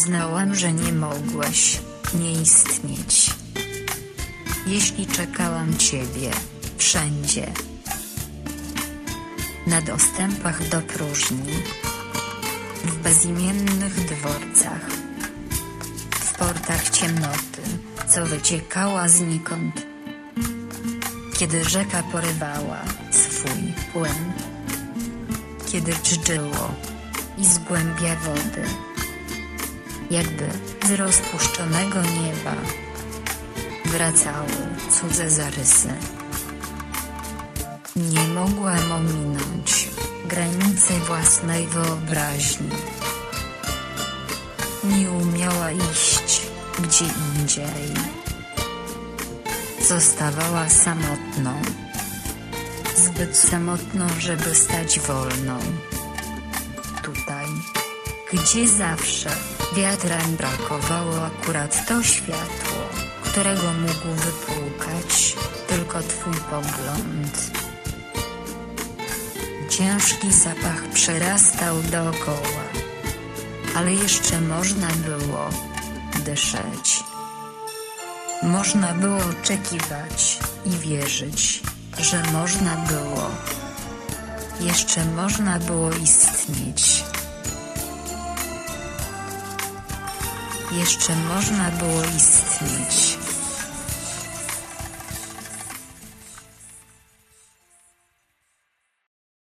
Uznałam, że nie mogłeś nie istnieć. Jeśli czekałam ciebie wszędzie. Na dostępach do próżni, w bezimiennych dworcach, w portach ciemnoty, co wyciekała znikąd, kiedy rzeka porywała swój płyn, kiedy dżdżyło i z głębia wody, jakby z rozpuszczonego nieba, wracały cudze zarysy. Nie mogłam ominąć granicy własnej wyobraźni. Nie umiała iść gdzie indziej. Zostawała samotną. Zbyt samotną, żeby stać wolną. Tutaj, gdzie zawsze wiatrem brakowało akurat to światło, którego mógł wypłukać tylko twój pogląd. Ciężki zapach przerastał dookoła, ale jeszcze można było dyszeć. Można było oczekiwać i wierzyć, że można było. Jeszcze można było istnieć. Jeszcze można było istnieć.